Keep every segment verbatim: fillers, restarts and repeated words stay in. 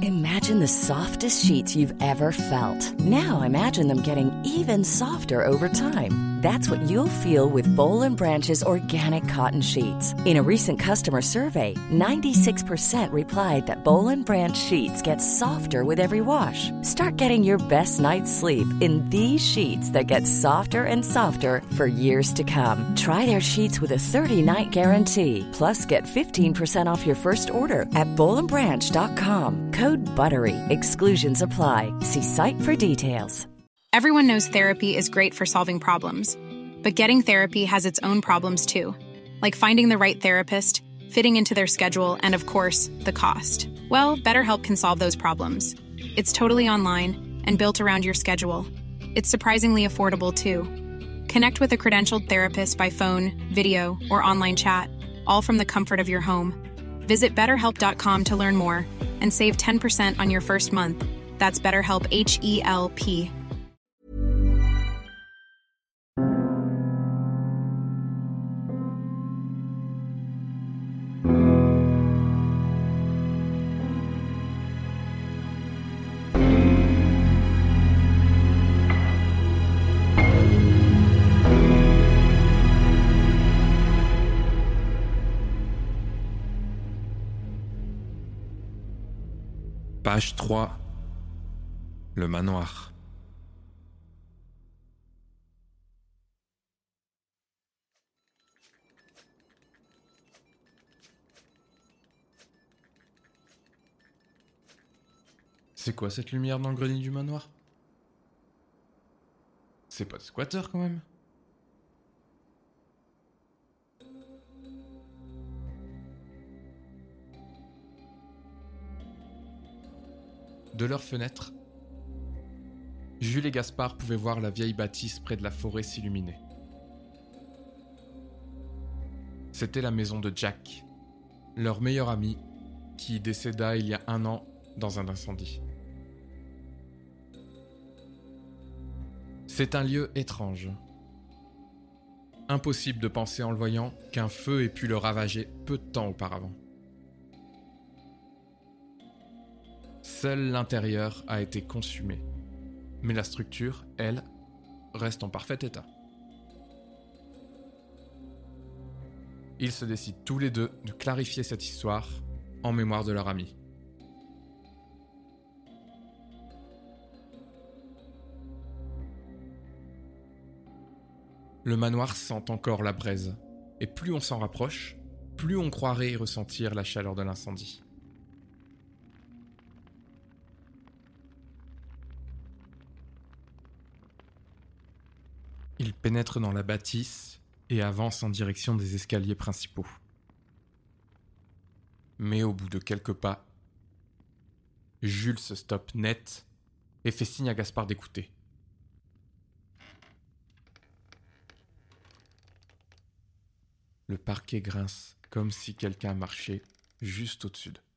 Imagine the softest sheets you've ever felt. Now imagine them getting even softer over time. That's what you'll feel with Bowl and Branch's organic cotton sheets. In a recent customer survey, ninety-six percent replied that Bowl and Branch sheets get softer with every wash. Start getting your best night's sleep in these sheets that get softer and softer for years to come. Try their sheets with a thirty-night guarantee. Plus, get fifteen percent off your first order at bowl and branch dot com. Code BUTTERY. Exclusions apply. See site for details. Everyone knows therapy is great for solving problems, but getting therapy has its own problems too, like finding the right therapist, fitting into their schedule, and of course, the cost. Well, BetterHelp can solve those problems. It's totally online and built around your schedule. It's surprisingly affordable too. Connect with a credentialed therapist by phone, video, or online chat, all from the comfort of your home. Visit better help dot com to learn more and save ten percent on your first month. That's BetterHelp, H E L P. Page trois. Le manoir. C'est quoi cette lumière dans le grenier du manoir? C'est pas de squatter quand même? De leur fenêtre, Jules et Gaspard pouvaient voir la vieille bâtisse près de la forêt s'illuminer. C'était la maison de Jack, leur meilleur ami, qui décéda il y a un an dans un incendie. C'est un lieu étrange. Impossible de penser en le voyant qu'un feu ait pu le ravager peu de temps auparavant. Seul l'intérieur a été consumé, mais la structure, elle, reste en parfait état. Ils se décident tous les deux de clarifier cette histoire en mémoire de leur ami. Le manoir sent encore la braise, et plus on s'en rapproche, plus on croirait y ressentir la chaleur de l'incendie. Ils pénètrent dans la bâtisse et avancent en direction des escaliers principaux. Mais au bout de quelques pas, Jules se stoppe net et fait signe à Gaspard d'écouter. Le parquet grince comme si quelqu'un marchait juste au-dessus d'eux.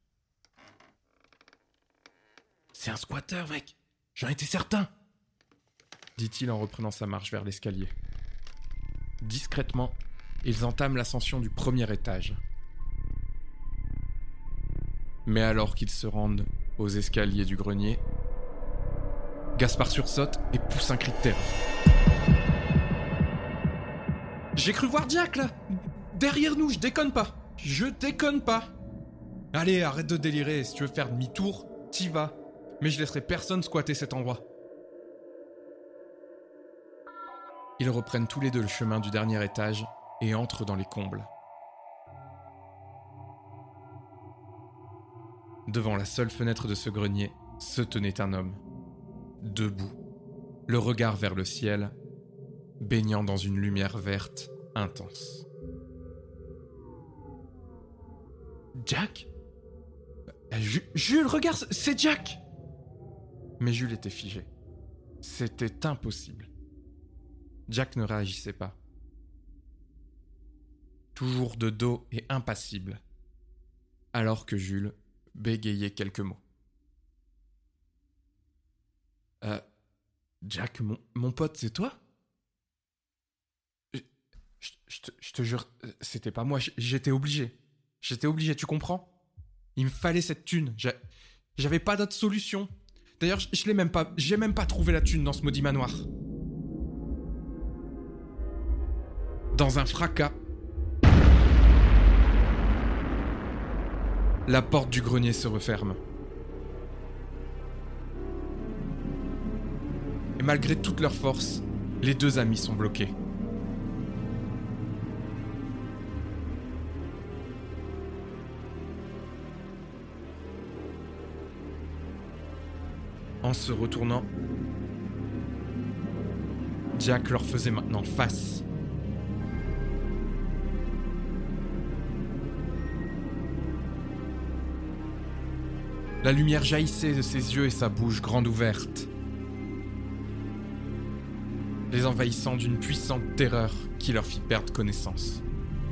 « C'est un squatter, mec! J'en étais certain !» dit-il en reprenant sa marche vers l'escalier. Discrètement, ils entament l'ascension du premier étage. Mais alors qu'ils se rendent aux escaliers du grenier, Gaspard sursaute et pousse un cri de terreur. « J'ai cru voir Jack, là! Derrière nous, je déconne pas! Je déconne pas! Allez, arrête de délirer, si tu veux faire demi-tour, t'y vas. Mais je laisserai personne squatter cet endroit. » Ils reprennent tous les deux le chemin du dernier étage et entrent dans les combles. Devant la seule fenêtre de ce grenier se tenait un homme, debout, le regard vers le ciel, baignant dans une lumière verte intense. Jack ? J- Jules, regarde, c'est Jack ! Mais Jules était figé. C'était impossible. Jack ne réagissait pas. Toujours de dos et impassible, alors que Jules bégayait quelques mots. Euh, Jack, mon, mon pote, c'est toi ? Je, je, je, te, je te jure, c'était pas moi, j'étais obligé. J'étais obligé, tu comprends ? Il me fallait cette thune. J'a, J'avais pas d'autre solution. D'ailleurs, je, je l'ai même pas, j'ai même pas trouvé la thune dans ce maudit manoir. Dans un fracas, la porte du grenier se referme. Et malgré toute leur force, les deux amis sont bloqués. En se retournant, Jack leur faisait maintenant face. La lumière jaillissait de ses yeux et sa bouche grande ouverte, les envahissant d'une puissante terreur qui leur fit perdre connaissance.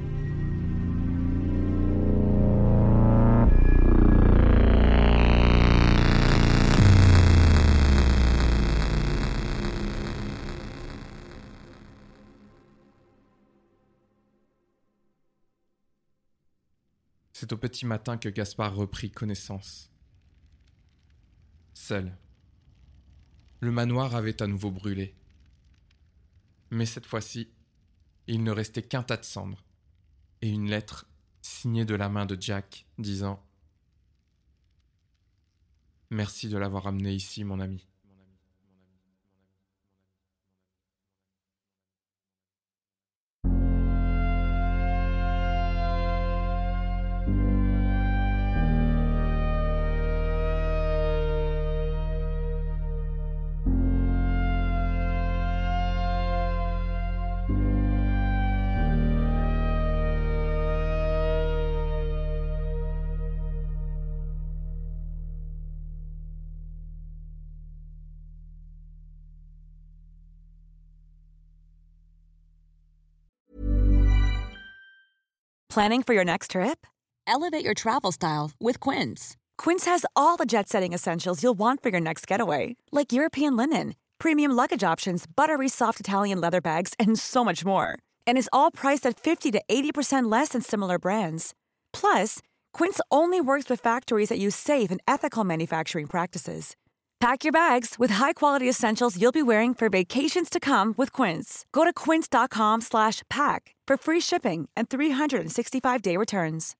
C'est au petit matin que Gaspard reprit connaissance. Seul. Le manoir avait à nouveau brûlé. Mais cette fois-ci, il ne restait qu'un tas de cendres et une lettre signée de la main de Jack disant « Merci de l'avoir amené ici, mon ami. » Planning for your next trip? Elevate your travel style with Quince. Quince has all the jet-setting essentials you'll want for your next getaway, like European linen, premium luggage options, buttery soft Italian leather bags, and so much more. And is all priced at fifty to eighty percent less than similar brands. Plus, Quince only works with factories that use safe and ethical manufacturing practices. Pack your bags with high-quality essentials you'll be wearing for vacations to come with Quince. Go to quince.com slash pack for free shipping and three sixty-five day returns.